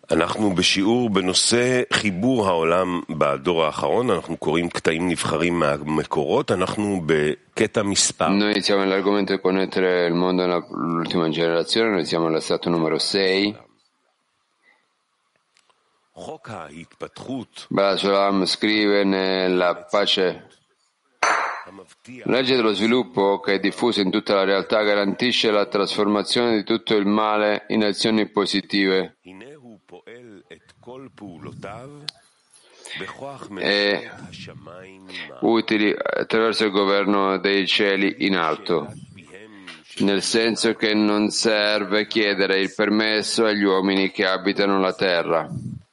אנחנו בשיעור בנושא חיבור העולם בדור האחרון, אנחנו קוראים קטעים נבחרים מהמקורות, אנחנו בקטע מספר. Noi siamo nell'argomento di connettere il mondo all'ultima generazione, noi siamo al stato numero 6. Balasolam scrive nella pace: la legge dello sviluppo, che è diffusa in tutta la realtà, garantisce la trasformazione di tutto il male in azioni positive e utili attraverso il governo dei cieli in alto, nel senso che non serve chiedere il permesso agli uomini che abitano la terra.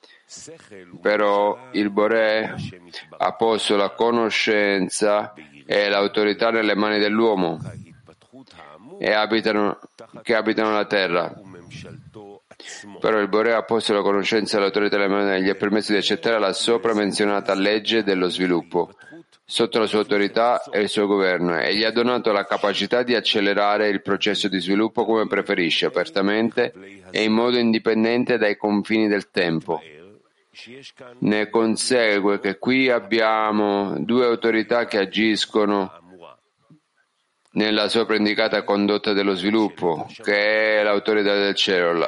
Però il Boré ha posto la conoscenza e l'autorità nelle mani dell'uomo che abitano la terra. Però il Boré ha posto la conoscenza e l'autorità nelle mani e gli ha permesso di accettare la sopra menzionata legge dello sviluppo sotto la sua autorità e il suo governo, e gli ha donato la capacità di accelerare il processo di sviluppo come preferisce, apertamente e in modo indipendente dai confini del tempo. Ne consegue che qui abbiamo due autorità che agiscono nella sopra indicata condotta dello sviluppo, che è l'autorità del cielo.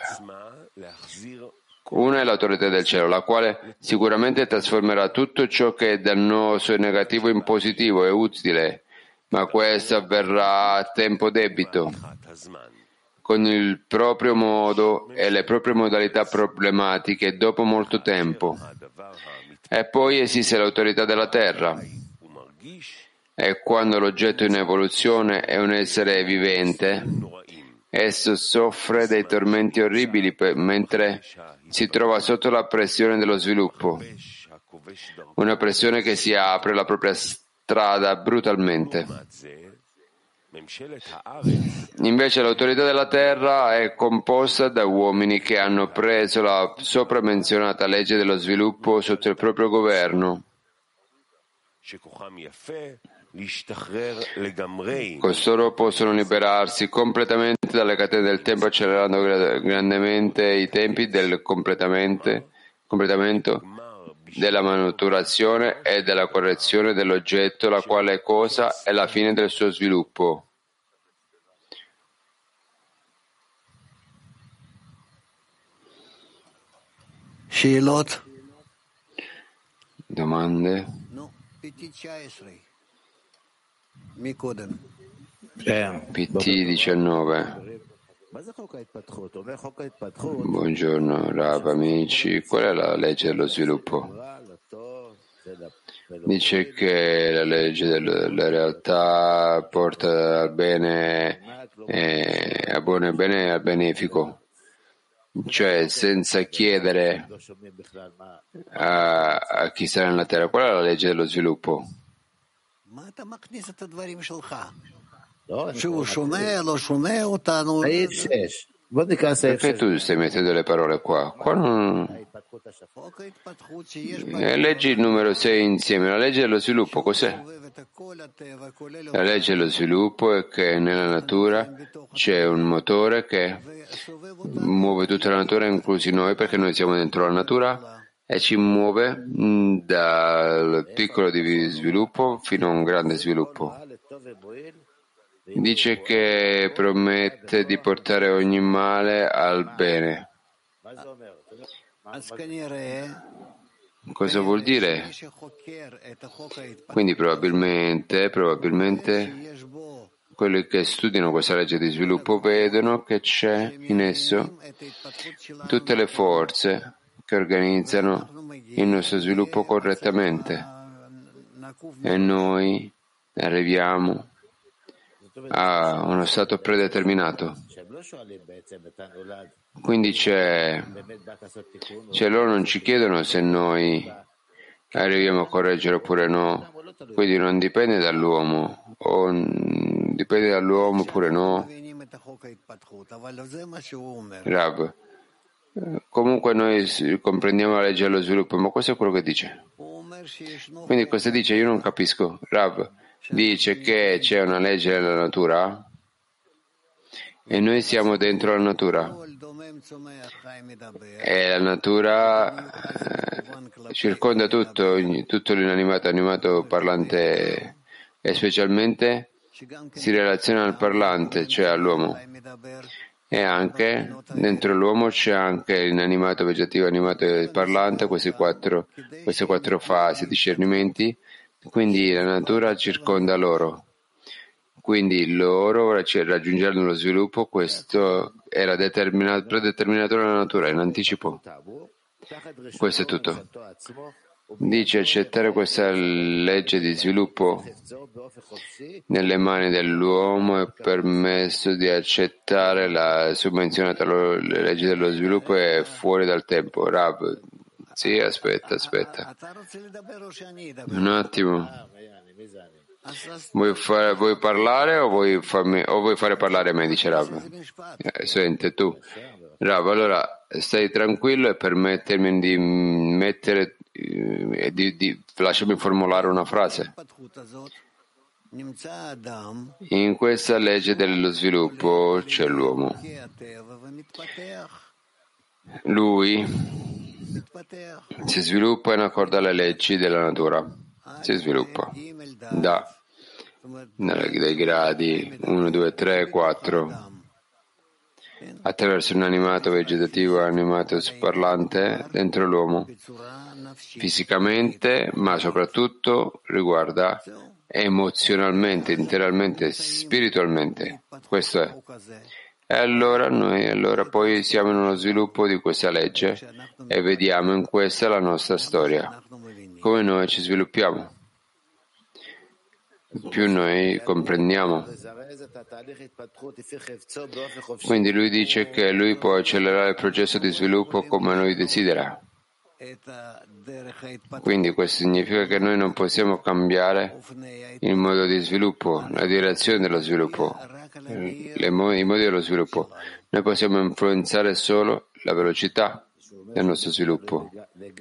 Una è l'autorità del cielo, la quale sicuramente trasformerà tutto ciò che è dannoso e negativo in positivo e utile, ma questo avverrà a tempo debito, con il proprio modo e le proprie modalità problematiche dopo molto tempo. E poi esiste l'autorità della terra. E quando l'oggetto in evoluzione è un essere vivente, esso soffre dei tormenti orribili mentre si trova sotto la pressione dello sviluppo, una pressione che si apre la propria strada brutalmente. Invece l'autorità della terra è composta da uomini che hanno preso la sopra menzionata legge dello sviluppo sotto il proprio governo. Costoro possono liberarsi completamente dalle catene del tempo, accelerando grandemente i tempi del completamento della maturazione e della correzione dell'oggetto, la quale cosa è la fine del suo sviluppo. Domande? PT 19. Buongiorno Rav, amici. Qual è la legge dello sviluppo? Dice che la legge della realtà porta al bene, al buono bene e al benefico, cioè senza chiedere a chi sta nella terra. Qual è la legge dello sviluppo? Perché tu stai mettendo le parole qua? Leggi il numero 6 insieme. La legge dello sviluppo cos'è? La legge dello sviluppo è che nella natura c'è un motore che muove tutta la natura, inclusi noi, perché noi siamo dentro la natura, e ci muove dal piccolo di sviluppo fino a un grande sviluppo. Dice che promette di portare ogni male al bene. Cosa vuol dire? Quindi probabilmente quelli che studiano questa legge di sviluppo vedono che c'è in esso tutte le forze che organizzano il nostro sviluppo correttamente, e noi arriviamo a uno stato predeterminato. Quindi loro non ci chiedono se noi arriviamo a correggere oppure no, quindi non dipende dall'uomo, o dipende dall'uomo oppure no. Rav, comunque noi comprendiamo la legge dello sviluppo, ma questo è quello che dice. Quindi cosa dice? Io non capisco. Rav dice che c'è una legge nella natura e noi siamo dentro la natura. E la natura circonda tutto l'inanimato, animato, parlante, e specialmente si relaziona al parlante, cioè all'uomo. E anche dentro l'uomo c'è anche l'inanimato, vegetativo, animato e parlante, queste quattro fasi, discernimenti. Quindi la natura circonda loro. Quindi loro raggiungeranno lo sviluppo, questo era predeterminato dalla natura, in anticipo. Questo è tutto. Dice accettare questa legge di sviluppo nelle mani dell'uomo è permesso di accettare la summenzionata legge dello sviluppo è fuori dal tempo. Rav, sì, aspetta. Un attimo. Vuoi parlare o vuoi fare parlare me, dice Rav. Sente tu. Rav, allora stai tranquillo e permettermi di mettere lasciami formulare una frase. In questa legge dello sviluppo c'è l'uomo. Lui si sviluppa in accordo alle leggi della natura. Si sviluppa dai gradi 1, 2, 3, 4 attraverso un animato vegetativo, animato parlante dentro l'uomo, fisicamente, ma soprattutto riguarda emozionalmente, interamente, spiritualmente. Questo è. E allora noi poi siamo in uno sviluppo di questa legge e vediamo in questa la nostra storia, come noi ci sviluppiamo. Più noi comprendiamo. Quindi lui dice che lui può accelerare il processo di sviluppo come lui desidera. Quindi questo significa che noi non possiamo cambiare il modo di sviluppo, la direzione dello sviluppo, i modi dello sviluppo. Noi possiamo influenzare solo la velocità del nostro sviluppo.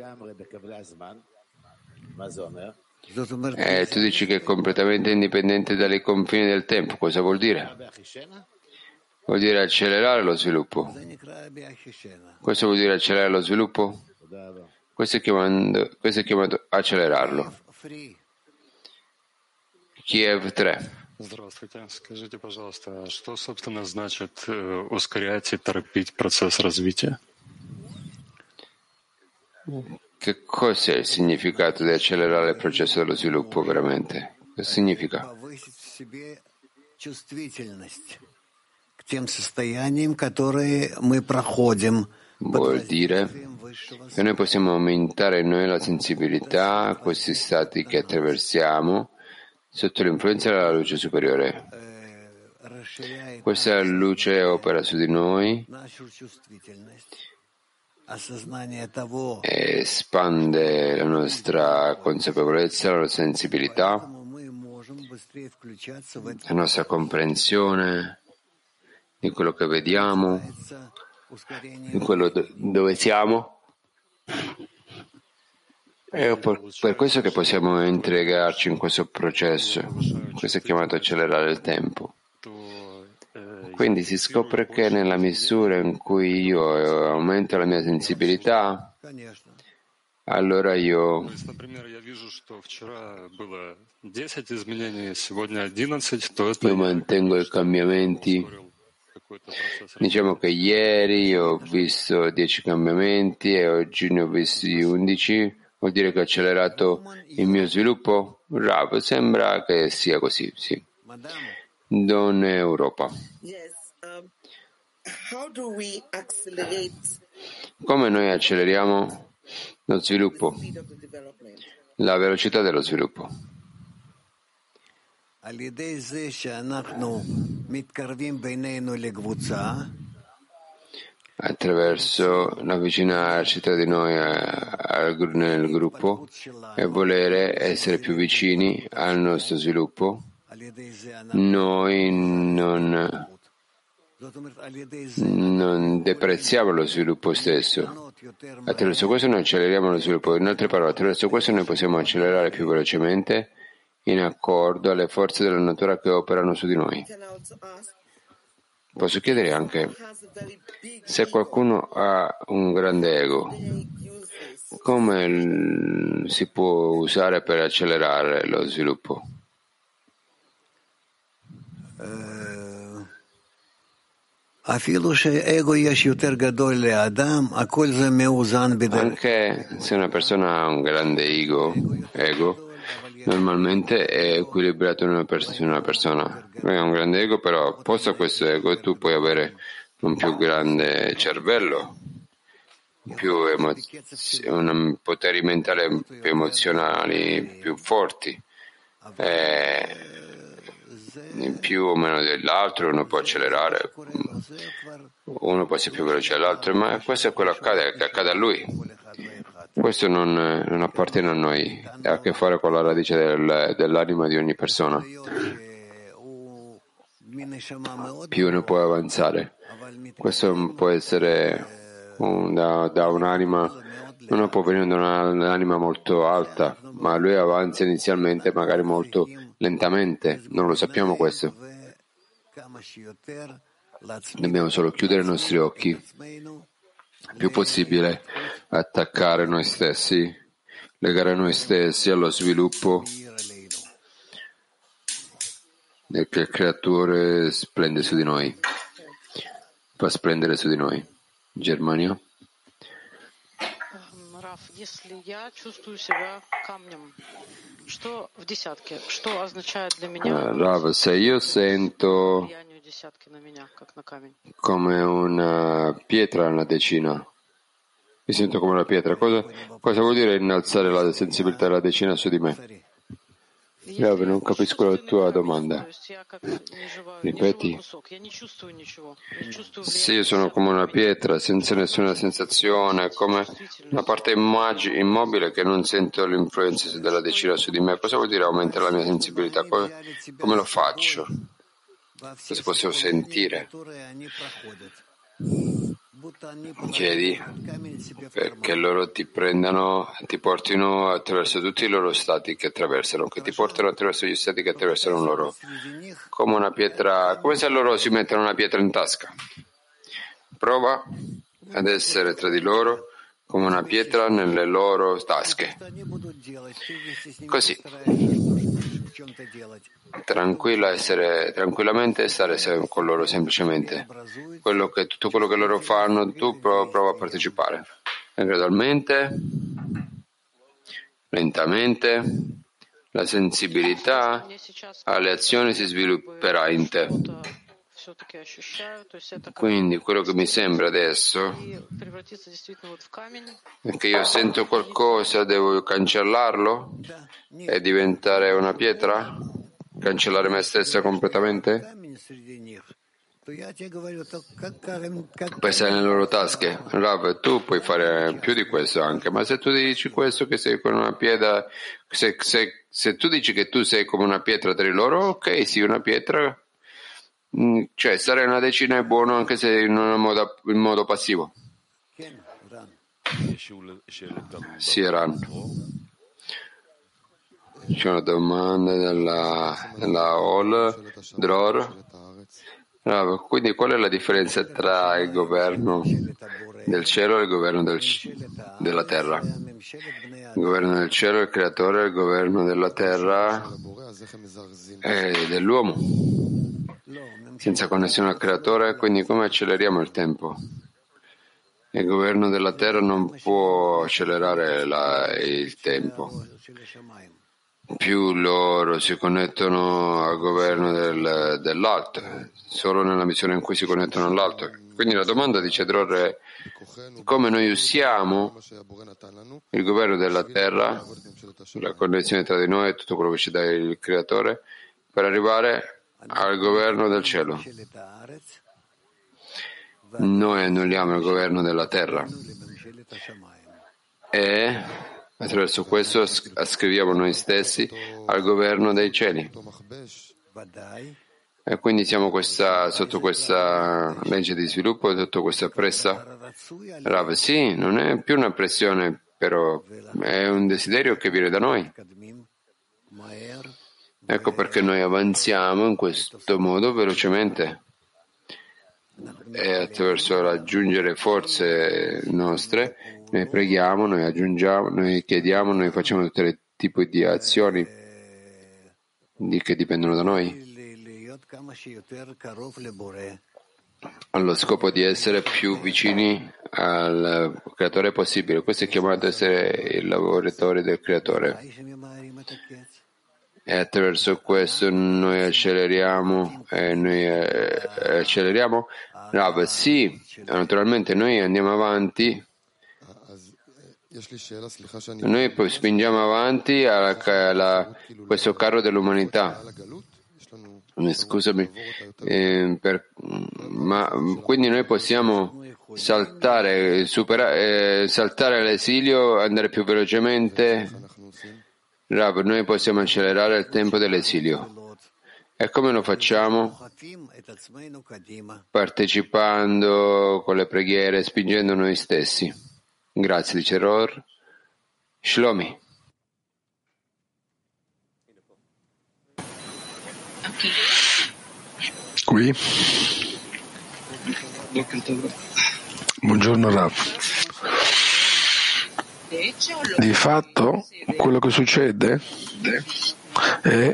Tu dici che è completamente indipendente dai confini del tempo. Cosa vuol dire? Vuol dire accelerare lo sviluppo. Questo vuol dire accelerare lo sviluppo? Questo è chiamato accelerarlo. Kiev 3. Здравствуйте. Скажите, пожалуйста, что, собственно, значит ускорять и торопить процесс развития? Che cos'è il significato di accelerare il processo dello sviluppo veramente? Cosa significa? Vuol dire che noi possiamo aumentare in noi la sensibilità a questi stati che attraversiamo sotto l'influenza della luce superiore. Questa luce opera su di noi e espande la nostra consapevolezza, la nostra sensibilità, la nostra comprensione di quello che vediamo, di quello dove siamo. È per questo che possiamo integrarci in questo processo. Questo è chiamato accelerare il tempo. Quindi si scopre che nella misura in cui io aumento la mia sensibilità, allora io mantengo i cambiamenti. Diciamo che ieri ho visto 10 cambiamenti e oggi ne ho visti 11. Vuol dire che ho accelerato il mio sviluppo? Rav, sembra che sia così, sì. Don Europa. Come noi acceleriamo lo sviluppo? La velocità dello sviluppo. Attraverso l'avvicinarci tra di noi nel gruppo e volere essere più vicini al nostro sviluppo, noi non deprezziamo lo sviluppo stesso. Attraverso questo noi acceleriamo lo sviluppo. In altre parole, attraverso questo noi possiamo accelerare più velocemente in accordo alle forze della natura che operano su di noi. Posso chiedere anche, se qualcuno ha un grande ego, come si può usare per accelerare lo sviluppo? Anche se una persona ha un grande ego, normalmente è equilibrato in una persona. Lui ha un grande ego, però posto questo ego tu puoi avere un più grande cervello, poteri mentali più emozionali, più forti. In più o meno dell'altro uno può accelerare, uno può essere più veloce dell'altro, ma questo è quello che accade a lui. Questo non appartiene a noi, ha a che fare con la radice dell'anima di ogni persona. Più uno può avanzare. Questo può essere da un'anima, uno può venire da un'anima molto alta, ma lui avanza inizialmente magari molto lentamente, non lo sappiamo questo. Dobbiamo solo chiudere i nostri occhi, il più possibile attaccare noi stessi, legare noi stessi allo sviluppo che il Creatore splende su di noi, fa splendere su di noi. Germania? Если я чувствую себя камнем, что в десятке? Что означает для меня Rav, se io sento влияние десятки на меня, как на камень? come una pietra nella decina, mi sento come una pietra, cosa vuol dire innalzare la sensibilità della decina su di me? Rav, non capisco la tua domanda. Ripeti. Se io sono come una pietra senza nessuna sensazione, come una parte immobile che non sento l'influenza della decina su di me, cosa vuol dire aumentare la mia sensibilità? Come lo faccio? Cosa posso sentire? Chiedi perché loro ti prendano, ti portino attraverso tutti i loro stati che attraversano, che ti portano attraverso gli stati che attraversano loro, come una pietra, come se loro si mettono una pietra in tasca. Prova ad essere tra di loro come una pietra nelle loro tasche. Così. Tranquillamente stare con loro semplicemente. Tutto quello che loro fanno, tu prova a partecipare. E gradualmente, lentamente, la sensibilità alle azioni si svilupperà in te. Quindi quello che mi sembra adesso è che io sento qualcosa, devo cancellarlo e diventare una pietra? Cancellare me stessa completamente? Per stare nelle loro tasche. Rav, tu puoi fare più di questo anche, ma se tu dici questo che sei come una pietra, se tu dici che tu sei come una pietra tra di loro, ok, sì, una pietra. Cioè, stare una decina è buono anche se in modo passivo. Sì, Ran. C'è una domanda della Ol Dror. Quindi qual è la differenza tra il governo del cielo e il governo della terra? Il governo del cielo è il creatore, il governo della terra è dell'uomo, senza connessione al creatore, quindi come acceleriamo il tempo? Il governo della terra non può accelerare il tempo. Più loro si connettono al governo dell'alto, solo nella missione in cui si connettono all'alto. Quindi la domanda dice Dror è come noi usiamo il governo della terra, la connessione tra di noi e tutto quello che ci dà il creatore, per arrivare al governo del cielo. Noi annulliamo il governo della terra e attraverso questo ascriviamo noi stessi al governo dei cieli. E quindi siamo sotto questa legge di sviluppo, sotto questa pressa. Rav, sì, non è più una pressione, però è un desiderio che viene da noi. Ecco perché noi avanziamo in questo modo velocemente. e attraverso raggiungere forze nostre, noi preghiamo, noi aggiungiamo, noi chiediamo, noi facciamo tutti i tipi di azioni che dipendono da noi, allo scopo di essere più vicini al creatore possibile. Questo è chiamato essere il lavoratore del creatore. E attraverso questo noi acceleriamo. Rav, sì, naturalmente noi andiamo avanti. Noi poi spingiamo avanti questo carro dell'umanità. Scusami, ma quindi noi possiamo saltare l'esilio, andare più velocemente. Rav, noi possiamo accelerare il tempo dell'esilio. E come lo facciamo? Partecipando con le preghiere, spingendo noi stessi. Grazie, dice Ror. Shlomi. Qui. Buongiorno Rav. Di fatto quello che succede è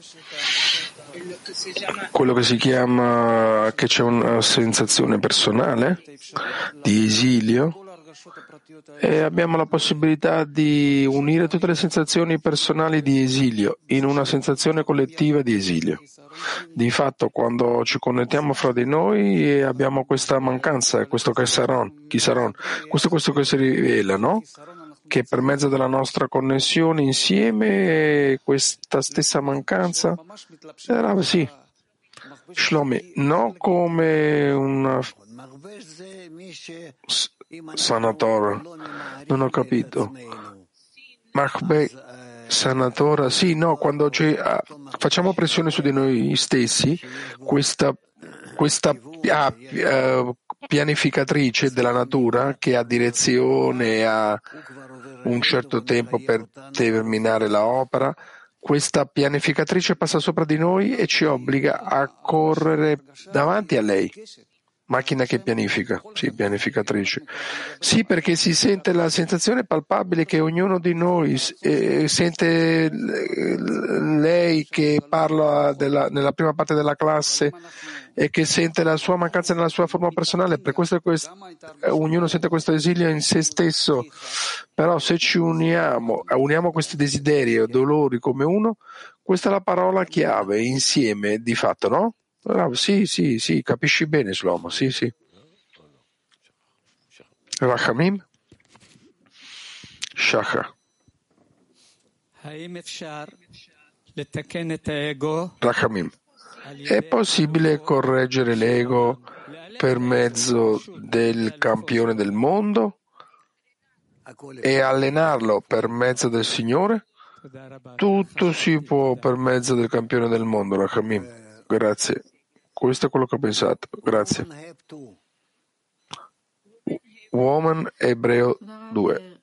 quello che si chiama che c'è una sensazione personale di esilio e abbiamo la possibilità di unire tutte le sensazioni personali di esilio in una sensazione collettiva di esilio. Di fatto, quando ci connettiamo fra di noi abbiamo questa mancanza, questo chisaron, questo che si rivela, no? Che per mezzo della nostra connessione insieme questa stessa mancanza era sì, Shlomi, no come una sanatora, non ho capito. Sanatora, sì, no, quando facciamo pressione su di noi stessi, questa pianificatrice della natura che ha direzione, ha un certo tempo per terminare l'opera, questa pianificatrice passa sopra di noi e ci obbliga a correre davanti a lei. Macchina che pianifica, sì, pianificatrice. Sì, perché si sente la sensazione palpabile che ognuno di noi sente lei che parla nella prima parte della classe e che sente la sua mancanza nella sua forma personale. Per questo ognuno sente questo esilio in se stesso. Però se ci uniamo questi desideri e dolori come uno, questa è la parola chiave, insieme, di fatto, no? Sì, capisci bene, Shlomo, sì. Rachamim? Shachar. Rachamim. È possibile correggere l'ego per mezzo del campione del mondo e allenarlo per mezzo del Signore? Tutto si può per mezzo del campione del mondo, Rachamim. Grazie. Questo è quello che ho pensato. Grazie. Woman Ebreo 2.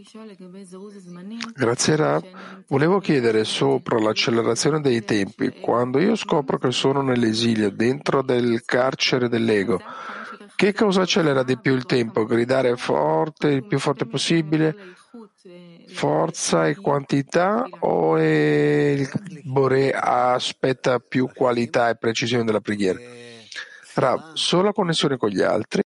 Grazie Rav. Volevo chiedere sopra l'accelerazione dei tempi. Quando io scopro che sono nell'esilio, dentro del carcere dell'ego, che cosa accelera di più il tempo? Gridare forte, il più forte possibile? Forza e quantità o il Boré aspetta più qualità e precisione della preghiera? Rav, solo connessione con gli altri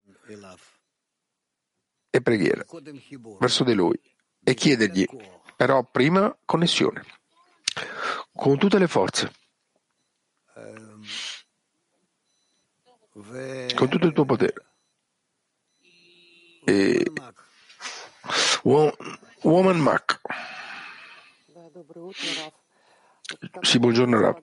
e preghiera verso di lui e chiedergli, però prima connessione con tutte le forze, con tutto il tuo potere. E Woman Mac. Sì, buongiorno Rav.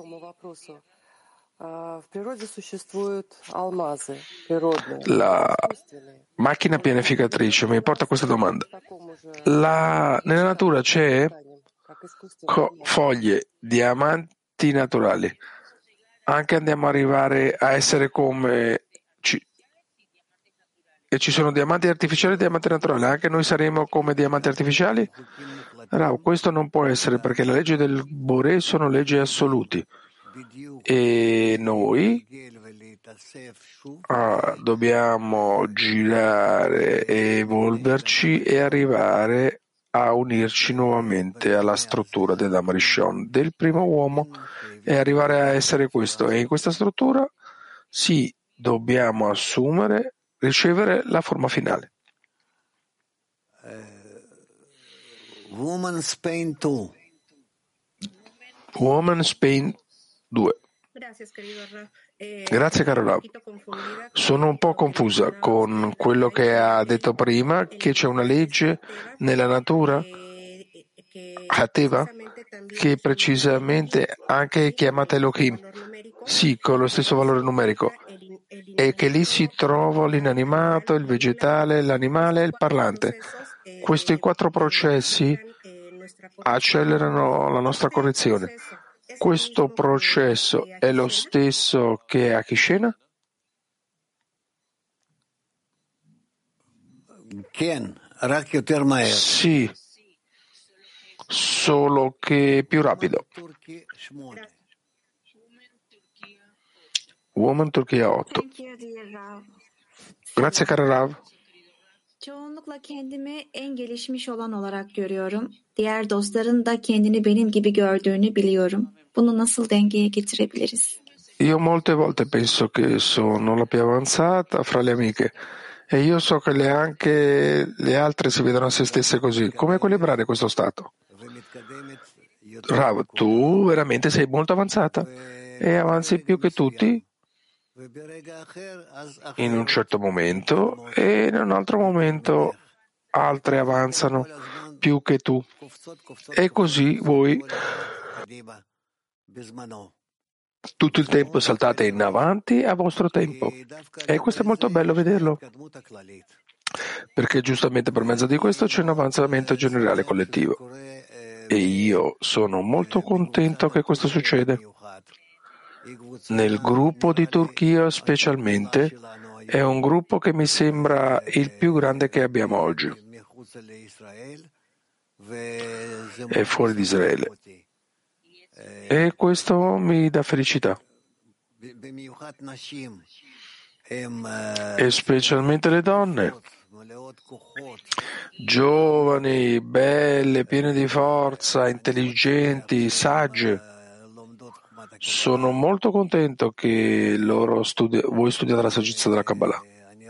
La macchina pianificatrice mi porta a questa domanda. Nella natura c'è foglie, diamanti naturali. Anche andiamo ad arrivare a essere come e ci sono diamanti artificiali e diamanti naturali. Anche noi saremo come diamanti artificiali? No, questo non può essere perché le leggi del Boré sono leggi assoluti. E noi dobbiamo girare e evolverci e arrivare a unirci nuovamente alla struttura dell'Adam Rishon, del primo uomo, e arrivare a essere questo. E in questa struttura sì, dobbiamo ricevere la forma finale. Woman Spain 2. Woman Spain 2. Grazie caro Rav. Sono un po' confusa con quello che ha detto prima, che c'è una legge nella natura, Hateva, che precisamente anche è chiamata Elohim, sì, con lo stesso valore numerico, e che lì si trova l'inanimato, il vegetale, l'animale e il parlante. Questi 4 processi accelerano la nostra correzione. Questo processo è lo stesso che a Kishena? Sì, solo che più rapido. Woman Turchia 8. Grazie caro Rav. Çoğunlukla kendimi en gelişmiş olan olarak görüyorum. Diğer dostların da kendini benim gibi gördüğünü biliyorum. Bunu nasıl dengeye getirebiliriz? Io molte volte penso che sono la più avanzata fra le amiche e io so che anche le altre si vedono a se stesse così. Come equilibrare questo stato? Rav, tu veramente sei molto avanzata e avanzi più che tutti in un certo momento e in un altro momento altre avanzano più che tu e così voi tutto il tempo saltate in avanti a vostro tempo e questo è molto bello vederlo perché giustamente per mezzo di questo c'è un avanzamento generale collettivo e io sono molto contento che questo succede. Nel gruppo di Turchia specialmente è un gruppo che mi sembra il più grande che abbiamo oggi. È fuori di Israele. E questo mi dà felicità. E specialmente le donne, giovani, belle, piene di forza, intelligenti, sagge. Sono molto contento che voi studiate la saggezza della Kabbalah.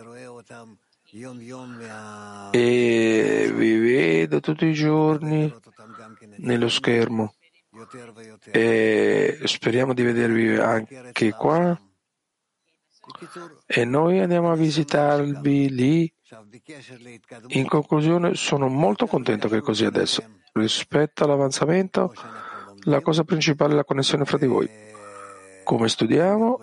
E vi vedo tutti i giorni nello schermo. E speriamo di vedervi anche qua. E noi andiamo a visitarvi lì. In conclusione, sono molto contento che è così adesso. Rispetto all'avanzamento, la cosa principale è la connessione fra di voi. Come studiamo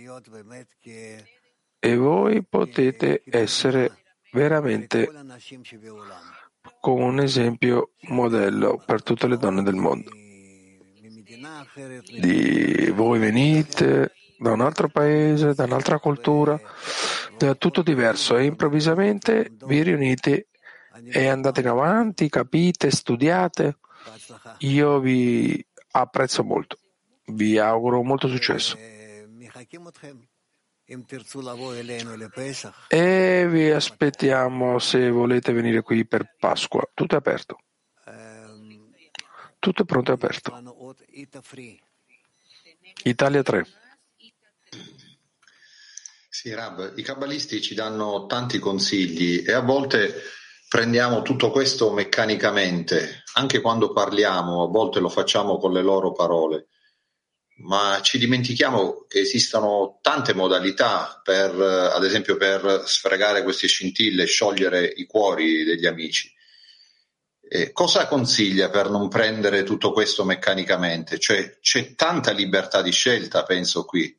e voi potete essere veramente come un esempio modello per tutte le donne del mondo. Voi venite da un altro paese, da un'altra cultura, da tutto diverso e improvvisamente vi riunite e andate in avanti, capite, studiate. Io vi apprezzo molto, vi auguro molto successo e vi aspettiamo se volete venire qui per Pasqua. Tutto è aperto, tutto è pronto e aperto. Italia 3. Sì, Rab, i kabbalisti ci danno tanti consigli e a volte prendiamo tutto questo meccanicamente, anche quando parliamo, a volte lo facciamo con le loro parole, ma ci dimentichiamo che esistono tante modalità per, ad esempio, per sfregare queste scintille, sciogliere i cuori degli amici. Cosa consiglia per non prendere tutto questo meccanicamente? Cioè, c'è tanta libertà di scelta, penso qui.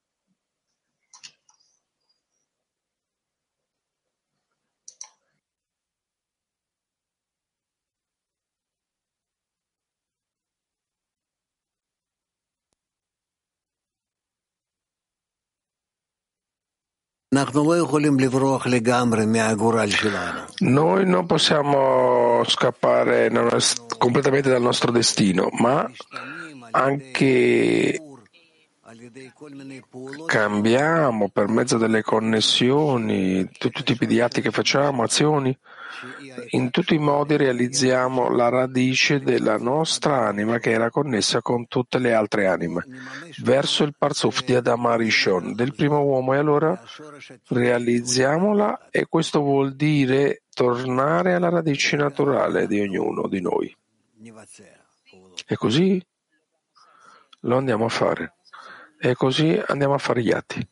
Noi non possiamo scappare completamente dal nostro destino, ma anche cambiamo per mezzo delle connessioni, tutti i tipi di atti che facciamo, azioni, in tutti i modi realizziamo la radice della nostra anima che era connessa con tutte le altre anime, verso il Parzuf di Adam Arishon, del primo uomo, e allora realizziamola, e questo vuol dire tornare alla radice naturale di ognuno di noi. E così lo andiamo a fare. E così andiamo a fare gli atti.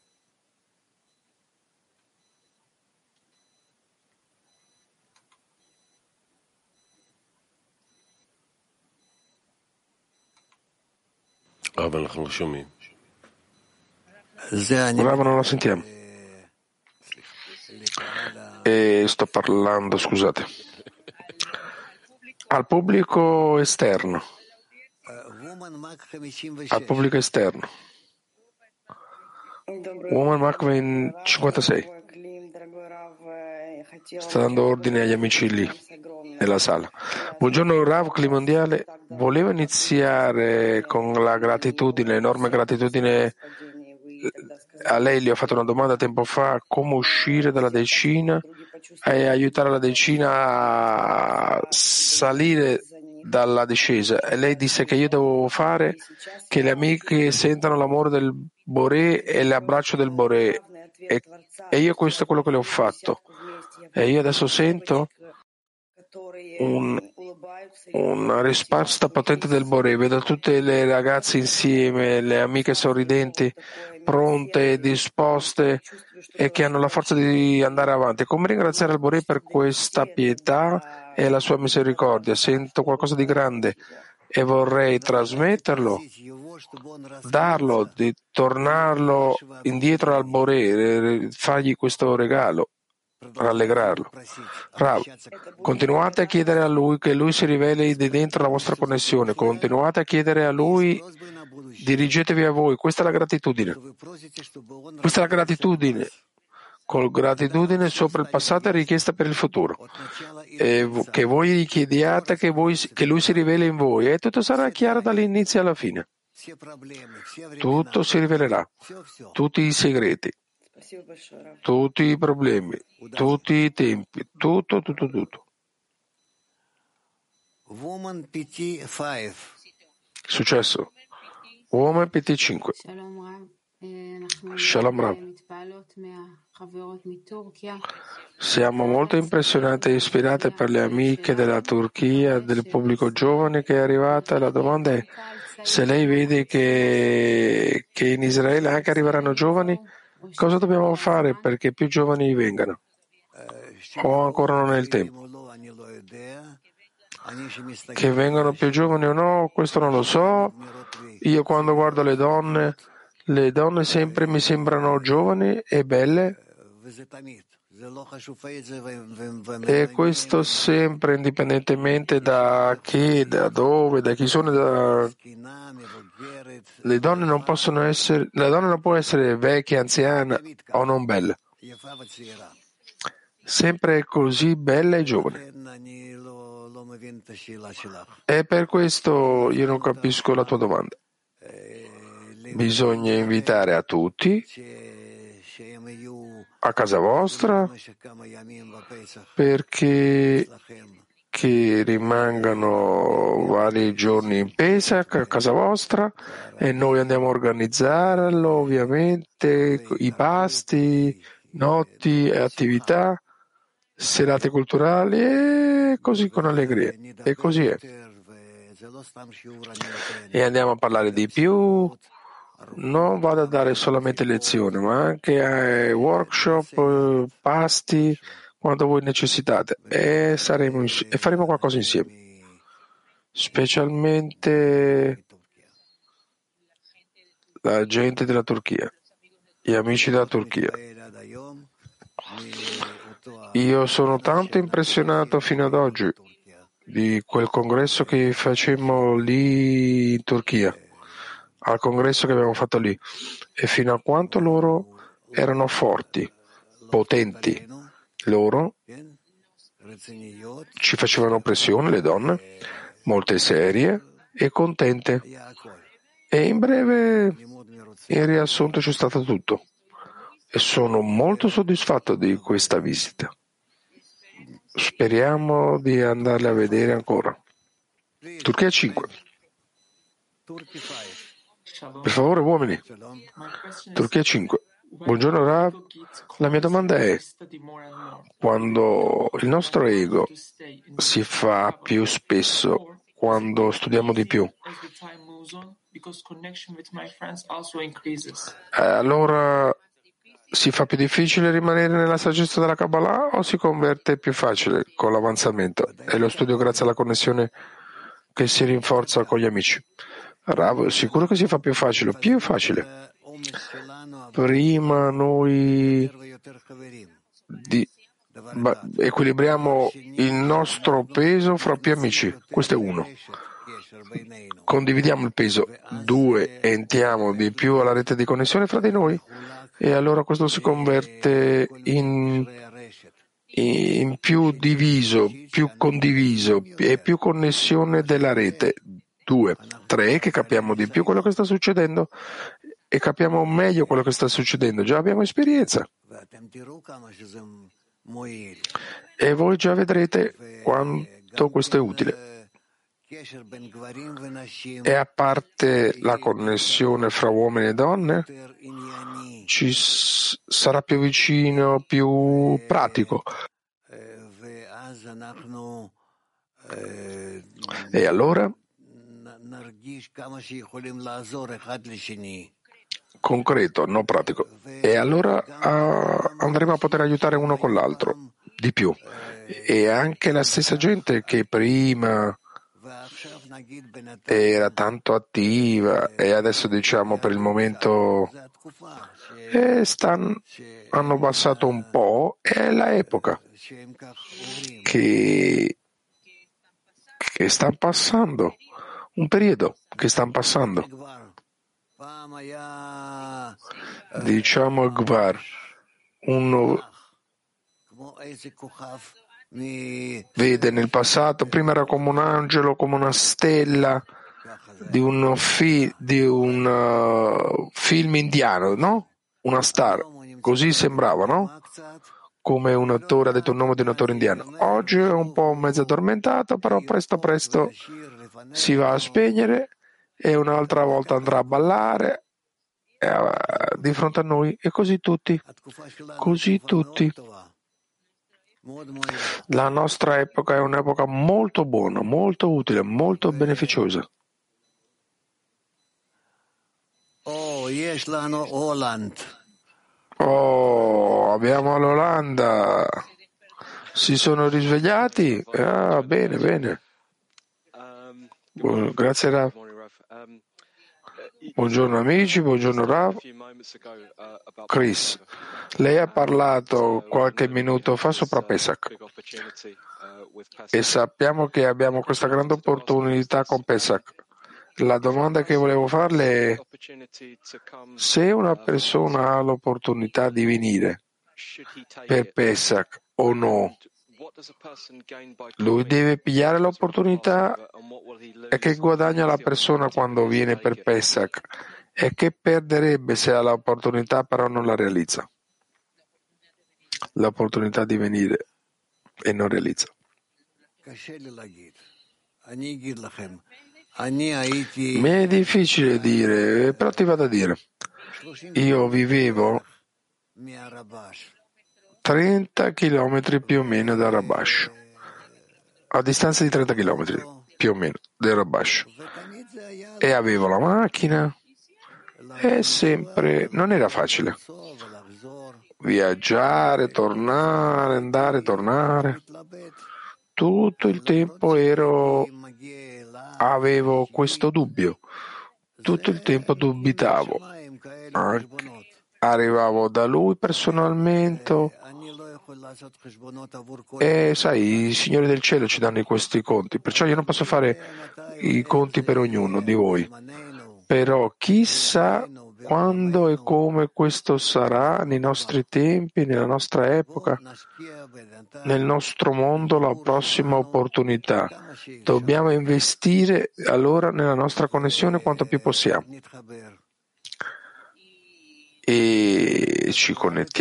Rav, non lo sentiamo. E sto parlando, scusate, al pubblico esterno. Al pubblico esterno. Woman Makven 56 sta dando ordine agli amici lì nella sala. Buongiorno Rav, Clima Mondiale. Volevo iniziare con la gratitudine, enorme gratitudine a lei. Le ho fatto una domanda tempo fa: come uscire dalla decina e aiutare la decina a salire dalla discesa, e lei disse che io devo fare che le amiche sentano l'amore del Boré e l'abbraccio del Boré, e io questo è quello che le ho fatto, e io adesso sento una risposta potente del Boré. Vedo tutte le ragazze insieme, le amiche sorridenti, pronte, disposte e che hanno la forza di andare avanti. Come ringraziare il Boré per questa pietà e la sua misericordia? Sento qualcosa di grande e vorrei trasmetterlo, darlo, di tornarlo indietro al Boré, fargli questo regalo, rallegrarlo. Rav, continuate a chiedere a lui che lui si riveli di dentro la vostra connessione, continuate a chiedere a lui, dirigetevi a voi. Questa è la gratitudine. Questa è la gratitudine. Con gratitudine sopra il passato e richiesta per il futuro. E che voi gli chiediate che lui si riveli in voi, e tutto sarà chiaro dall'inizio alla fine. Tutto si rivelerà, tutti i segreti, tutti i problemi, tutti i tempi, tutto. Successo. Woman PT5. Shalom Rav. Siamo molto impressionati e ispirati per le amiche della Turchia, del pubblico giovane che è arrivata. La domanda è se lei vede che in Israele anche arriveranno giovani, cosa dobbiamo fare perché più giovani vengano? O ancora non è il tempo? Che vengano più giovani o no, questo non lo so. Io quando guardo le donne sempre mi sembrano giovani e belle, e questo sempre, indipendentemente da chi, da dove, da chi sono. Le donne non possono essere, la donna non può essere vecchia, anziana o non bella, sempre così bella e giovane. E per questo io non capisco la tua domanda. Bisogna invitare a tutti a casa vostra perché che rimangano vari giorni in Pesach a casa vostra, e noi andiamo a organizzarlo, ovviamente, i pasti, notti e attività, serate culturali, e così con allegria. E così è. E andiamo a parlare di più. Non vado a dare solamente lezioni, ma anche workshop, pasti, quando voi necessitate, e faremo qualcosa insieme, specialmente la gente della Turchia, gli amici della Turchia. Io sono tanto impressionato fino ad oggi di quel congresso che facemmo lì in Turchia, al congresso che abbiamo fatto lì, e fino a quanto loro erano forti, potenti. Loro ci facevano pressione, le donne, molte serie e contente. E in breve In riassunto c'è stato tutto e sono molto soddisfatto di questa visita. Speriamo di andarle a vedere ancora. Turchia 5. Per favore, uomini. Turchia 5. Buongiorno Rav. La mia domanda è: quando il nostro ego si fa più spesso, quando studiamo di più, allora si fa più difficile rimanere nella saggezza della Kabbalah o si converte più facile con l'avanzamento e lo studio grazie alla connessione che si rinforza con gli amici? Rav, sicuro che si fa più facile, più facile. Prima noi equilibriamo il nostro peso fra più amici, questo è uno. Condividiamo il peso, 2, entriamo di più alla rete di connessione fra di noi e allora questo si converte in più diviso, più condiviso e più connessione della rete. 2, 3, che capiamo di più quello che sta succedendo e capiamo meglio quello che sta succedendo. Già abbiamo esperienza. E voi già vedrete quanto questo è utile. E a parte la connessione fra uomini e donne, ci sarà più vicino, più pratico. E allora concreto, non pratico. E allora andremo a poter aiutare uno con l'altro di più. E anche la stessa gente che prima era tanto attiva e adesso diciamo per il momento hanno passato un po', è l'epoca che stanno passando, un periodo che stanno passando. Diciamo Gvar, vede nel passato, prima era come un angelo, come una stella di un film indiano, no? Una star, così sembrava, no? Come un attore, ha detto il nome di un attore indiano. Oggi è un po' mezzo addormentato, però presto si va a spegnere e un'altra volta andrà a ballare di fronte a noi e così tutti. La nostra epoca è un'epoca molto buona, molto utile, molto beneficiosa. Abbiamo l'Olanda. Si sono risvegliati? Bene. Grazie Rav. Buongiorno amici, buongiorno Rav. Chris, lei ha parlato qualche minuto fa sopra Pesach e sappiamo che abbiamo questa grande opportunità con Pesach. La domanda che volevo farle è: se una persona ha l'opportunità di venire per Pesach o no, lui deve pigliare l'opportunità? E che guadagna la persona quando viene per Pesach? E che perderebbe se ha l'opportunità però non la realizza? L'opportunità di venire e non realizza. Mi è difficile dire, però ti vado a dire. Io vivevo 30 chilometri più o meno da Rabash, a distanza di 30 chilometri più o meno del Rabash, e avevo la macchina e sempre non era facile viaggiare, tornare, andare, tornare. Tutto il tempo avevo questo dubbio, tutto il tempo dubitavo. Arrivavo da lui personalmente e sai, i signori del cielo ci danno questi conti, perciò io non posso fare i conti per ognuno di voi, però chissà quando e come questo sarà nei nostri tempi, nella nostra epoca, nel nostro mondo, la prossima opportunità. Dobbiamo investire allora nella nostra connessione quanto più possiamo. e ci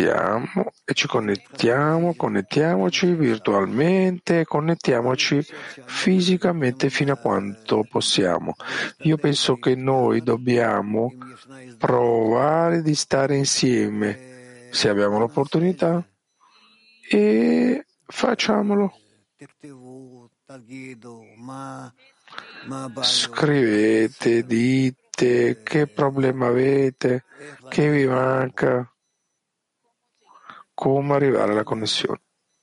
connettiamoci virtualmente, connettiamoci fisicamente fino a quanto possiamo. Io penso che noi dobbiamo provare di stare insieme se abbiamo l'opportunità e facciamolo. Scrivete, dite che problema avete, che vi manca, come arrivare alla connessione.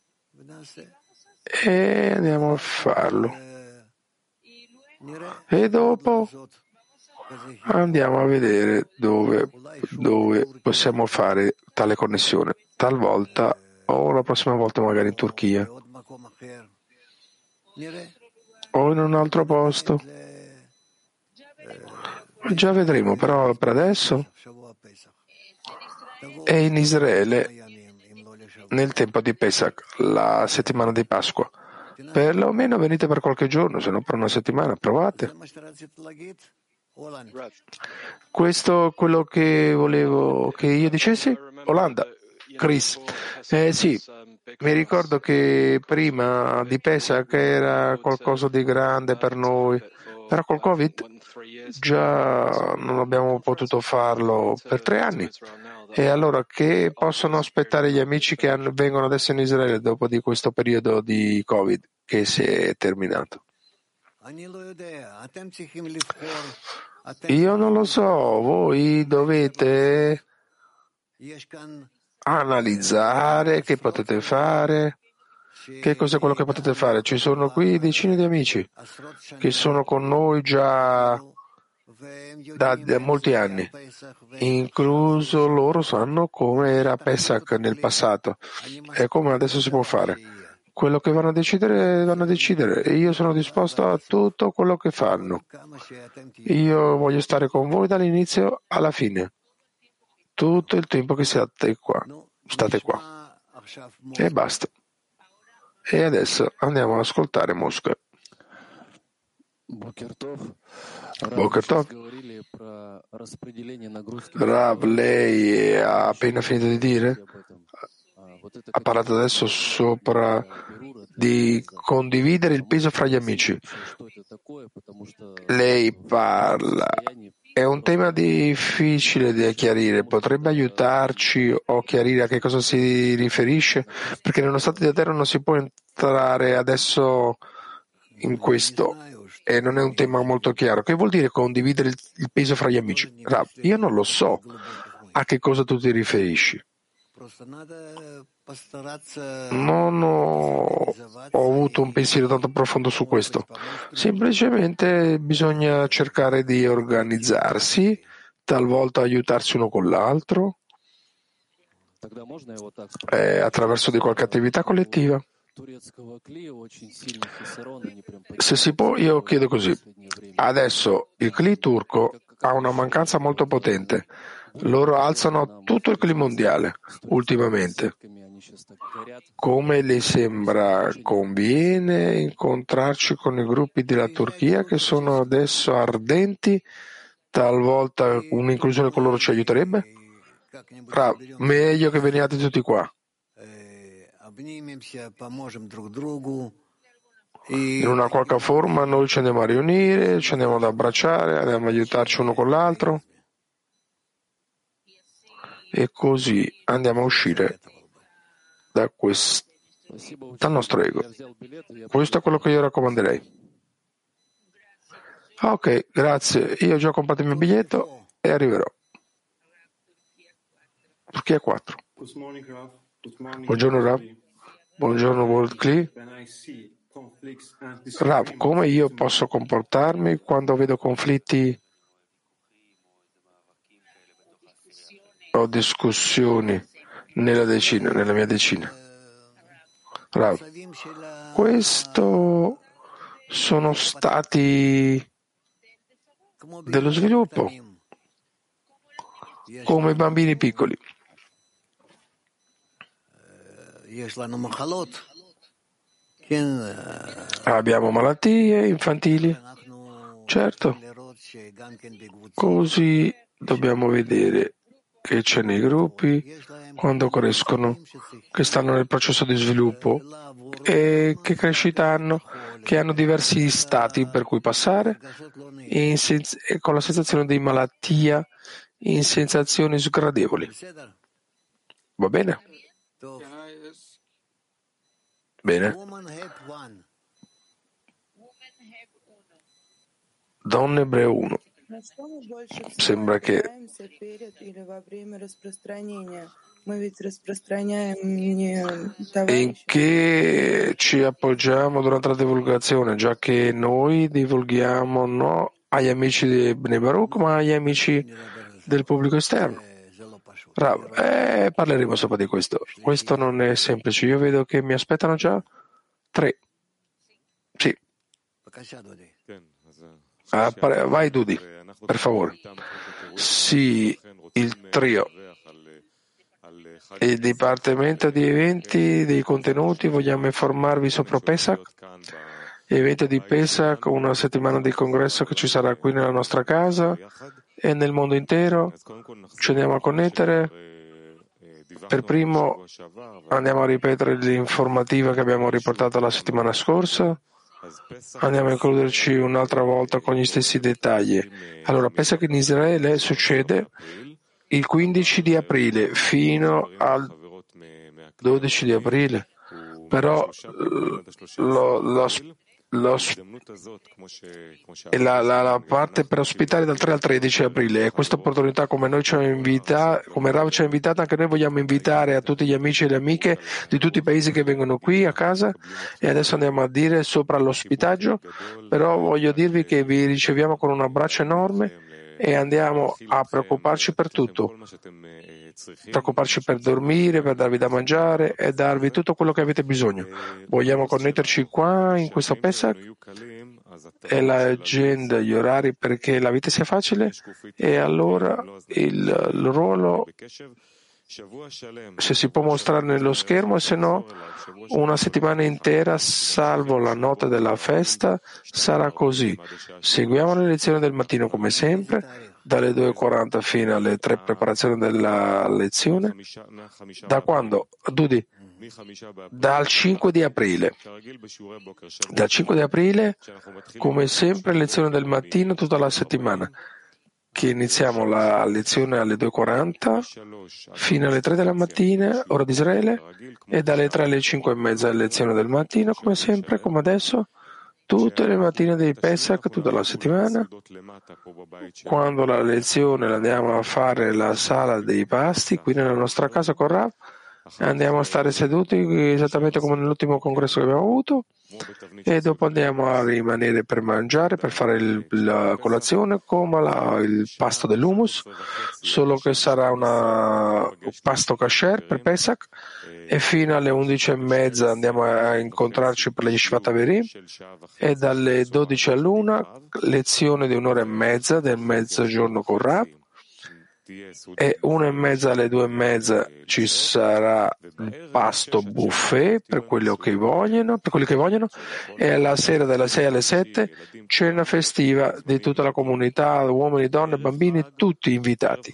E andiamo a farlo. E dopo andiamo a vedere dove possiamo fare tale connessione. Talvolta o la prossima volta magari in Turchia o in un altro posto. Già vedremo, però per adesso è in Israele nel tempo di Pesach, la settimana di Pasqua. Perlomeno venite per qualche giorno, se no per una settimana, provate. Questo è quello che volevo che io dicessi? Olanda, Chris. Sì, mi ricordo che prima di Pesach era qualcosa di grande per noi, però col Covid già non abbiamo potuto farlo per 3 anni. E allora che possono aspettare gli amici che vengono adesso in Israele dopo di questo periodo di Covid che si è terminato? Io non lo so, voi dovete analizzare che potete fare, che cos'è quello che potete fare. Ci sono qui decine di amici che sono con noi già da molti anni, incluso loro sanno come era Pesach nel passato e come adesso si può fare. Quello che vanno a decidere e io sono disposto a tutto quello che fanno. Io voglio stare con voi dall'inizio alla fine, tutto il tempo che state qua. E basta. E adesso andiamo ad ascoltare Mosca. Boker Tov. Rav, lei ha appena finito di dire? Ha parlato adesso sopra di condividere il peso fra gli amici. Lei parla. È un tema difficile da chiarire. Potrebbe aiutarci o chiarire a che cosa si riferisce? Perché nello stato di terra non si può entrare adesso in questo. E non è un tema molto chiaro. Che vuol dire condividere il peso fra gli amici? Rav, io non lo so a che cosa tu ti riferisci. Non ho avuto un pensiero tanto profondo su questo. Semplicemente bisogna cercare di organizzarsi, talvolta aiutarsi uno con l'altro, attraverso di qualche attività collettiva. Se si può, io chiedo così. Adesso il CLI turco ha una mancanza molto potente. Loro alzano tutto il CLI mondiale ultimamente. Come le sembra conviene incontrarci con i gruppi della Turchia che sono adesso ardenti? Talvolta un'inclusione con loro ci aiuterebbe? Meglio che veniate tutti qua. In una qualche forma noi ci andiamo a riunire, ci andiamo ad abbracciare, andiamo ad aiutarci uno con l'altro e così andiamo a uscire dal nostro ego. Questo è quello che io raccomanderei. Ok, grazie. Io ho già comprato il mio biglietto e arriverò. Turchia 4. Buongiorno Rav. Buongiorno World Cli. Rav, come io posso comportarmi quando vedo conflitti o discussioni nella mia decina? Rav, questo sono stati dello sviluppo, come bambini piccoli. Abbiamo malattie infantili, certo, così dobbiamo vedere che c'è nei gruppi quando crescono, che stanno nel processo di sviluppo e che crescita hanno, che hanno diversi stati per cui passare e con la sensazione di malattia in sensazioni sgradevoli. Va bene? Bene. Donne Ebreo 1. Sembra che in che ci appoggiamo durante la divulgazione, già che noi divulghiamo non agli amici di Bnei Baruch, ma agli amici del pubblico esterno. Parleremo sopra di questo. Questo non è semplice. Io vedo che mi aspettano già 3. Sì. Vai Dudi, per favore. Sì, il trio. Il Dipartimento di Eventi dei Contenuti, vogliamo informarvi sopra Pesach. Evento di Pesach, una settimana di congresso che ci sarà qui nella nostra casa e nel mondo intero. Ci andiamo a connettere. Per primo andiamo a ripetere l'informativa che abbiamo riportato la settimana scorsa. Andiamo a includerci un'altra volta con gli stessi dettagli. Allora, pensa che in Israele succede il 15 di aprile fino al 12 di aprile, però la parte per ospitare dal 3 al 13 aprile e questa opportunità come Rav ci ha invitato, anche noi vogliamo invitare a tutti gli amici e le amiche di tutti i paesi che vengono qui a casa e adesso andiamo a dire sopra l'ospitaggio, però voglio dirvi che vi riceviamo con un abbraccio enorme e andiamo a preoccuparci per tutto, preoccuparci per dormire, per darvi da mangiare e darvi tutto quello che avete bisogno. Vogliamo connetterci qua in questo Pesach e l'agenda, gli orari perché la vita sia facile e allora il ruolo se si può mostrare nello schermo e se no una settimana intera salvo la notte della festa sarà così. Seguiamo le lezioni del mattino come sempre dalle 2:40 fino alle 3 preparazioni della lezione. Da quando? Dudi? Dal 5 di aprile. Dal 5 di aprile, come sempre, lezione del mattino tutta la settimana. Che iniziamo la lezione alle 2:40 fino alle 3 della mattina, ora di Israele, e dalle 3 alle 5:30 lezione del mattino, come sempre, come adesso, tutte le mattine dei Pesach, tutta la settimana. Quando la lezione la andiamo a fare nella sala dei pasti, qui nella nostra casa con Rav, andiamo a stare seduti esattamente come nell'ultimo congresso che abbiamo avuto e dopo andiamo a rimanere per mangiare, per fare la colazione come il pasto dell'hummus, solo che sarà un pasto kasher per Pesach e fino alle 11:30 andiamo a incontrarci per la Yeshivat Averim e dalle 12 all'1 lezione di 1:30 del mezzogiorno con Rav. E 1:30 alle 2:30 ci sarà il pasto buffet per quelli che vogliono, e alla sera dalle 6 alle 7 cena festiva di tutta la comunità, uomini, donne, bambini, tutti invitati.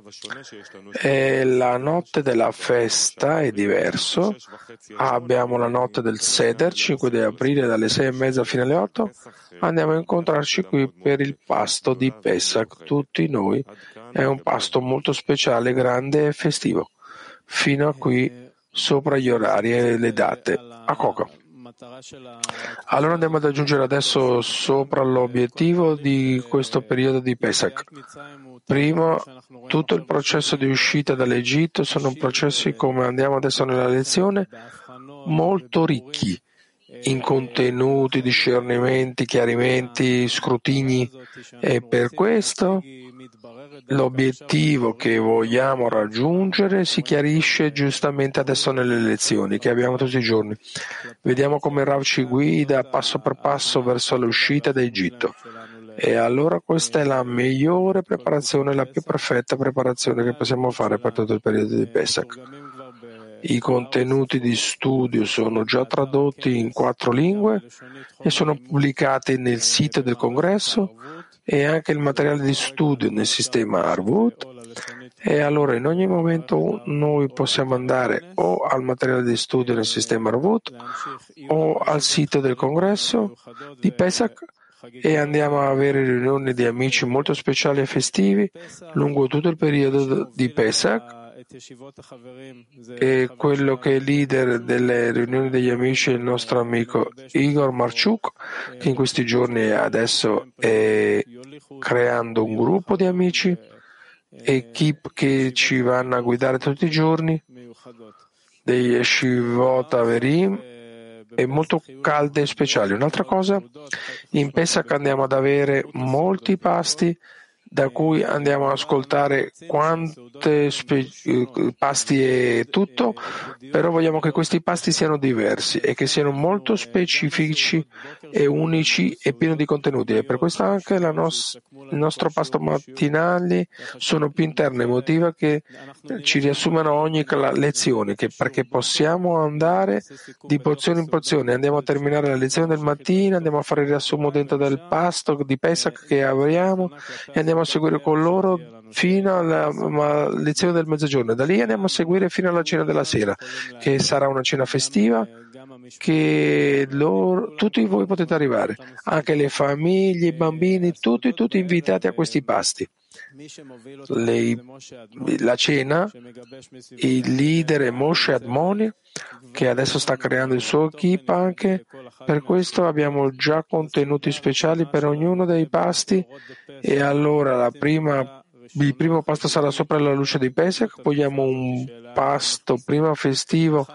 E la notte della festa è diverso. Abbiamo la notte del Seder, 5 di aprile dalle 6:30 fino alle 8. Andiamo a incontrarci qui per il pasto di Pesach, tutti noi. È un pasto molto speciale, grande e festivo. Fino a qui, sopra gli orari e le date. A Coca. Allora andiamo ad aggiungere adesso sopra l'obiettivo di questo periodo di Pesach. Primo, tutto il processo di uscita dall'Egitto sono processi, come andiamo adesso nella lezione, molto ricchi in contenuti, discernimenti, chiarimenti, scrutini, e per questo l'obiettivo che vogliamo raggiungere si chiarisce giustamente adesso nelle lezioni che abbiamo tutti i giorni. Vediamo come Rav ci guida passo per passo verso l'uscita d'Egitto. E allora questa è la migliore preparazione, la più perfetta preparazione che possiamo fare per tutto il periodo di Pesach. I contenuti di studio sono già tradotti in 4 lingue e sono pubblicati nel sito del congresso e anche il materiale di studio nel sistema Arvut E allora in ogni momento noi possiamo andare o al materiale di studio nel sistema Ravut o al sito del congresso di Pesach e andiamo a avere riunioni di amici molto speciali e festivi lungo tutto il periodo di Pesach. E quello che è leader delle riunioni degli amici è il nostro amico Igor Marchuk, che in questi giorni adesso è creando un gruppo di amici, equip che ci vanno a guidare tutti i giorni, dei Yeshivot Averim, e molto calde e speciali. Un'altra cosa, in Pesach andiamo ad avere molti pasti da cui andiamo ad ascoltare quante pasti e tutto, però vogliamo che questi pasti siano diversi e che siano molto specifici e unici e pieni di contenuti. E per questo anche il nostro pasto mattinale sono più interne, emotiva, che ci riassumono ogni lezione, perché possiamo andare di porzione in porzione. Andiamo a terminare la lezione del mattino, andiamo a fare il riassunto dentro del pasto di Pesach che abbiamo e andiamo a seguire con loro fino alla lezione del mezzogiorno. Da lì andiamo a seguire fino alla cena della sera, che sarà una cena festiva che tutti voi potete arrivare, anche le famiglie, i bambini, tutti invitati a questi pasti. La cena, il leader è Moshe Admoni, che adesso sta creando il suo equipe anche. Per questo abbiamo già contenuti speciali per ognuno dei pasti. E allora il primo pasto sarà sopra la luce di Pesach, poi abbiamo un pasto prima festivo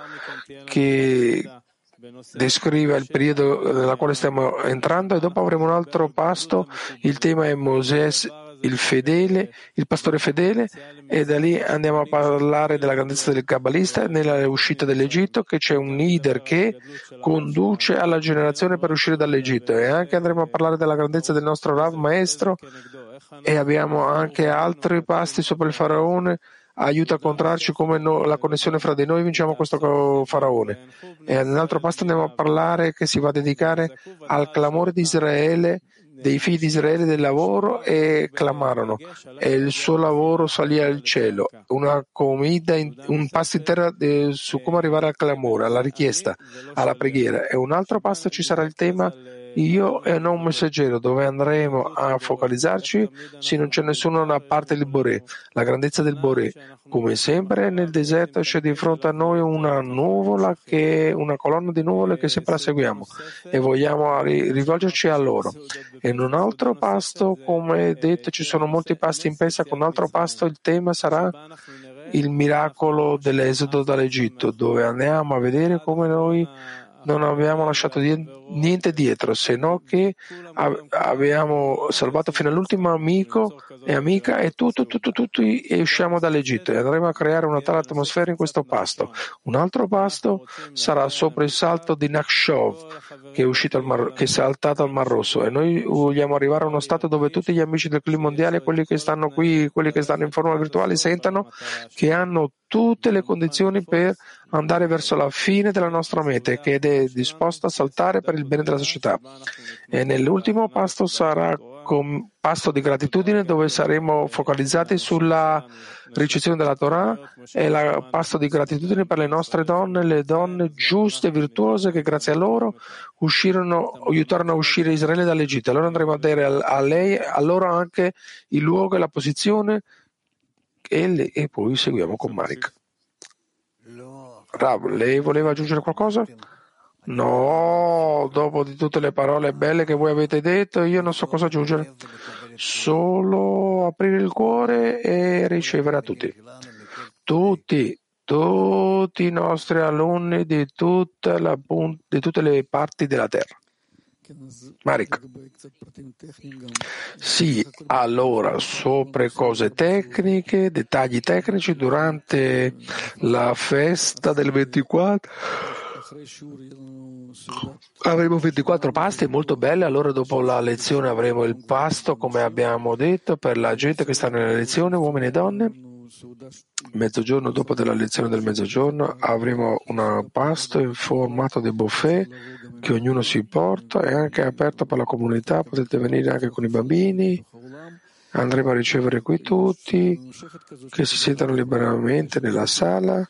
che descrive il periodo nel quale stiamo entrando, e dopo avremo un altro pasto. Il tema è Moses, il fedele, il pastore fedele, e da lì andiamo a parlare della grandezza del kabbalista nella uscita dall'Egitto, che c'è un leader che conduce alla generazione per uscire dall'Egitto, e anche andremo a parlare della grandezza del nostro Rav maestro, e abbiamo anche altri pasti sopra il faraone. Aiuta a incontrarci come la connessione fra di noi vinciamo questo faraone. E nell'altro pasto andiamo a parlare che si va a dedicare al clamore di Israele, dei figli di Israele del lavoro, e clamarono e il suo lavoro salì al cielo. Una comida, un pasto intero su come arrivare al clamore, alla richiesta, alla preghiera. E un altro pasto ci sarà il tema Io e non un messaggero, dove andremo a focalizzarci se non c'è nessuno a parte il Boré, la grandezza del Boré. Come sempre nel deserto c'è di fronte a noi una nuvola, una colonna di nuvole che sempre la seguiamo e vogliamo rivolgerci a loro. E in un altro pasto, come detto, ci sono molti pasti in Pesach. Con un altro pasto il tema sarà il miracolo dell'esodo dall'Egitto, dove andiamo a vedere come noi non abbiamo lasciato niente dietro, se no che abbiamo salvato fino all'ultimo amico e amica e tutti e usciamo dall'Egitto, e andremo a creare una tale atmosfera in questo pasto. Un altro pasto sarà sopra il salto di Nakshov, che è saltato al Mar Rosso, e noi vogliamo arrivare a uno stato dove tutti gli amici del clima mondiale, quelli che stanno qui, quelli che stanno in forma virtuale, sentano che hanno tutte le condizioni per andare verso la fine della nostra meta, che è disposta a saltare per il bene della società. E nell'ultimo pasto sarà con pasto di gratitudine, dove saremo focalizzati sulla ricezione della Torah, e il pasto di gratitudine per le nostre donne, le donne giuste e virtuose che grazie a loro aiutarono a uscire Israele dall'Egitto. Allora andremo a dare a loro anche il luogo e la posizione, e poi seguiamo con Marik. Rav, lei voleva aggiungere qualcosa? No, dopo di tutte le parole belle che voi avete detto, io non so cosa aggiungere. Solo aprire il cuore e ricevere a tutti i nostri alunni di tutte le parti della terra. Marik. Sì, allora, sopra cose tecniche, dettagli tecnici, durante la festa del 24 avremo 24 pasti molto belle. Allora dopo la lezione avremo il pasto, come abbiamo detto, per la gente che sta nella lezione, uomini e donne. Mezzogiorno, dopo della lezione del mezzogiorno, avremo un pasto in formato di buffet che ognuno si porta, è anche aperto per la comunità, potete venire anche con i bambini, Andremo a ricevere qui tutti che si siedano liberamente nella sala.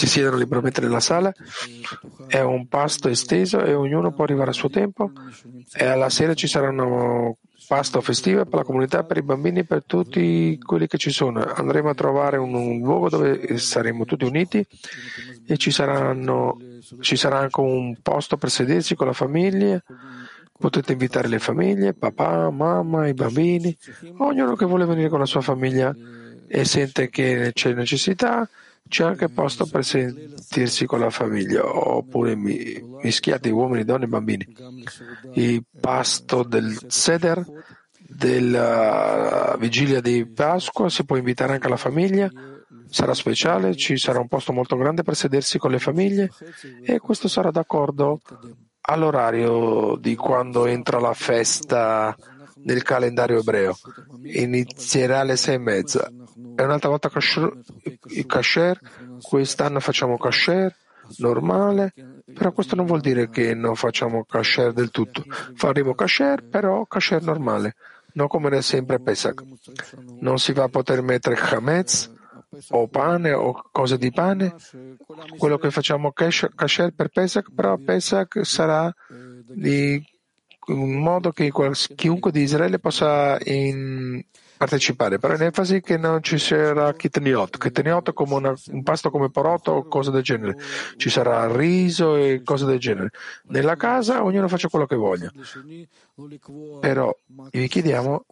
È un pasto esteso e ognuno può arrivare al suo tempo. E alla sera ci sarà un pasto festivo per la comunità, per i bambini, per tutti quelli che ci sono. Andremo a trovare un luogo dove saremo tutti uniti e ci sarà anche un posto per sedersi con la famiglia. Potete invitare le famiglie, papà, mamma, i bambini, ognuno che vuole venire con la sua famiglia e sente che c'è necessità, c'è anche posto per sentirsi con la famiglia, oppure mischiati uomini, donne e bambini. Il pasto del Seder, della vigilia di Pasqua, si può invitare anche la famiglia, sarà speciale, ci sarà un posto molto grande per sedersi con le famiglie e questo sarà d'accordo all'orario di quando entra la festa nel calendario ebreo. Inizierà alle 6:30. E un'altra volta kasher. Quest'anno facciamo kasher normale, però questo non vuol dire che non facciamo kasher del tutto. Faremo kasher, però kasher normale, non come era sempre Pesach. Non si va a poter mettere chametz o pane o cose di pane. Quello che facciamo kasher per Pesach, però Pesach sarà di un modo che chiunque di Israele possa partecipare, però in enfasi che non ci sarà kitniot come un pasto come porotto o cose del genere, ci sarà riso e cose del genere. Nella casa ognuno faccia quello che voglia, però vi chiediamo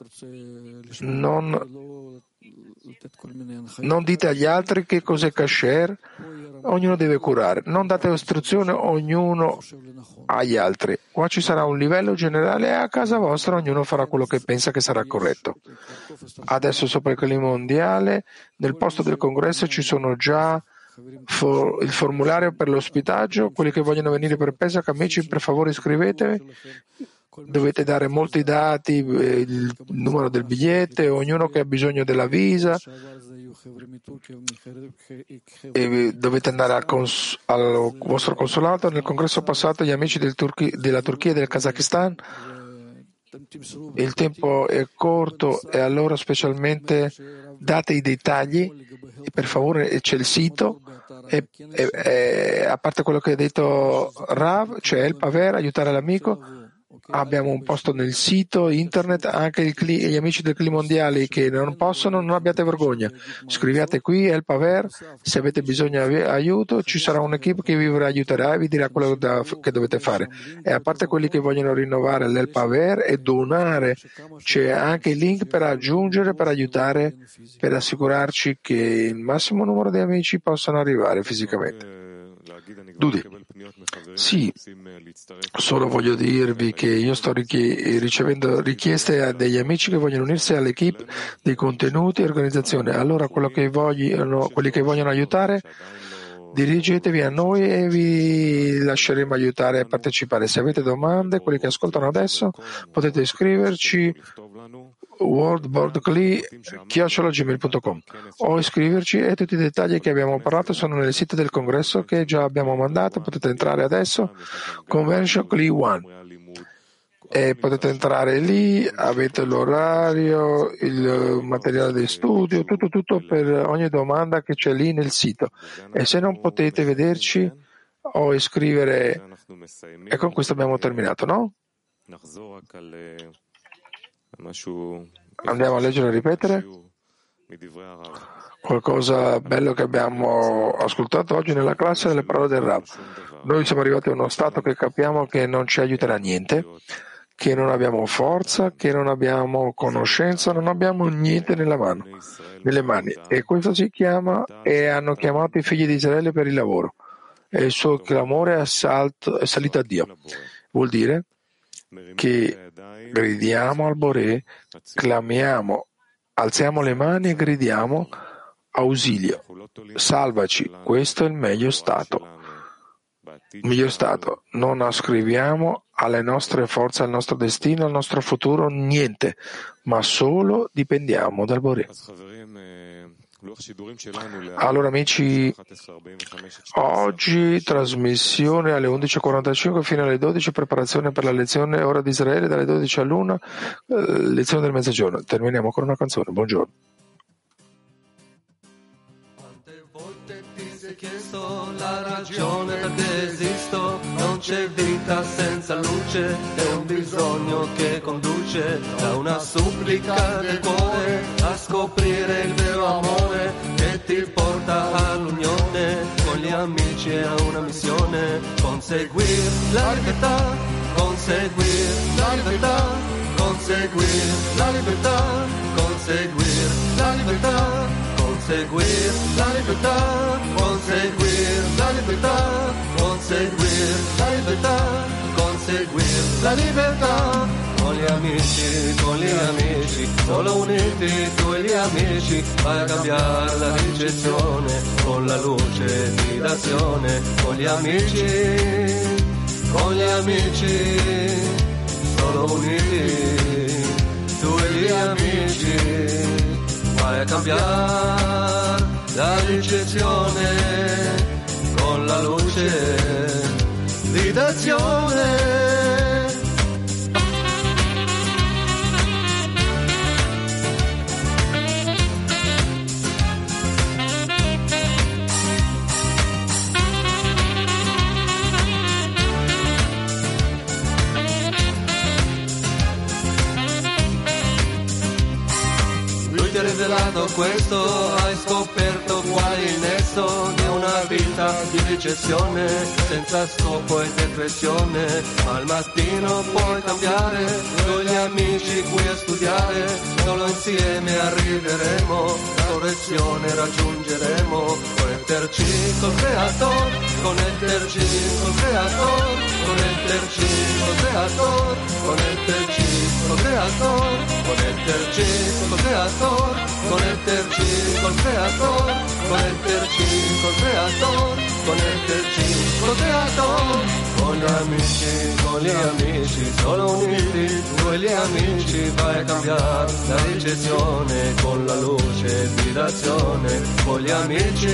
non dite agli altri che cos'è kasher, ognuno deve curare, non date istruzione ognuno agli altri. Qua ci sarà un livello generale e a casa vostra ognuno farà quello che pensa che sarà corretto. Adesso sopra il clima mondiale, nel posto del congresso ci sono già il formulario per l'ospitaggio. Quelli che vogliono venire per Pesach, amici, per favore iscrivetevi. Dovete dare molti dati, il numero del biglietto, ognuno che ha bisogno della visa, e dovete andare al vostro consolato. Nel congresso passato gli amici della Turchia e del Kazakistan, il tempo è corto e allora specialmente date i dettagli e per favore c'è il sito e a parte quello che ha detto Rav, c'è il Paver, aiutare l'amico. Abbiamo un posto nel sito internet, anche gli amici del clima mondiale che non possono, non abbiate vergogna, scriviate qui El Paver, se avete bisogno di aiuto ci sarà un'equipe che vi aiuterà e vi dirà quello che dovete fare. E a parte quelli che vogliono rinnovare l'El Paver e donare, c'è anche il link per aggiungere, per aiutare, per assicurarci che il massimo numero di amici possano arrivare fisicamente. Dudi. Sì, solo voglio dirvi che io sto ricevendo richieste degli amici che vogliono unirsi all'equipe dei contenuti e organizzazione. Allora quelli che vogliono aiutare, dirigetevi a noi e vi lasceremo aiutare a partecipare. Se avete domande, quelli che ascoltano adesso, potete iscriverci wordboardcli@gmail.com o iscriverci e tutti i dettagli che abbiamo parlato sono nel sito del congresso che già abbiamo mandato. Potete entrare adesso, Convention Cli One, e potete entrare lì, avete l'orario, il materiale di studio, tutto per ogni domanda che c'è lì nel sito. E se non potete vederci o iscrivere, e con questo abbiamo terminato, no? Andiamo a leggere e ripetere qualcosa bello che abbiamo ascoltato oggi nella classe delle parole del Rav. Noi siamo arrivati a uno stato che capiamo che non ci aiuterà niente, che non abbiamo forza, che non abbiamo conoscenza, non abbiamo niente nelle mani. E questo si chiama, e hanno chiamato i figli di Israele per il lavoro. E il suo clamore è salito a Dio. Vuol dire che gridiamo al Boré, clamiamo, alziamo le mani e gridiamo ausilio, salvaci, questo è il meglio stato. Non ascriviamo alle nostre forze, al nostro destino, al nostro futuro niente, ma solo dipendiamo dal Boré. Allora amici, oggi trasmissione alle 11:45 fino alle 12, preparazione per la lezione ora di Israele dalle 12 all'1, lezione del mezzogiorno. Terminiamo con una canzone. Buongiorno. Chiesto la ragione perché esisto, non c'è vita senza luce, è un bisogno che conduce da una supplica del cuore a scoprire il vero amore che ti porta all'unione con gli amici e a una missione, conseguir la libertà, conseguir la libertà, conseguir la libertà, conseguir la libertà. Conseguir la libertà, conseguir la libertà, conseguir la libertà, conseguir la libertà. Con gli amici, solo uniti tu e gli amici, vai a cambiare la ricezione con la luce di d'azione. Con gli amici, solo uniti tu e gli amici, vai a cambiare la ricezione con la luce di d'azione. Ti ha rivelato questo, hai scoperto qual è il nesso di una vita di ricezione senza scopo e depressione, ma al mattino puoi cambiare con gli amici qui a studiare, solo insieme arriveremo, la correzione raggiungeremo, connetterci col creator, connetterci col creator, connetterci col creator, connetterci col creator, connetterci col creator, connetterci col creator, connetterci col creator, connetterci col creator. Con gli amici, solo uniti, tu e gli amici, vai a cambiare la ricezione con la luce di d'azione. Con gli amici,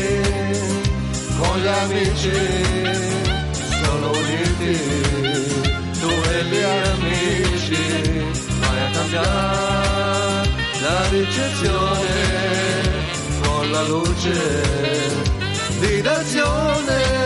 solo uniti, tu e gli amici, vai a cambiare la ricezione con la luce di d'azione.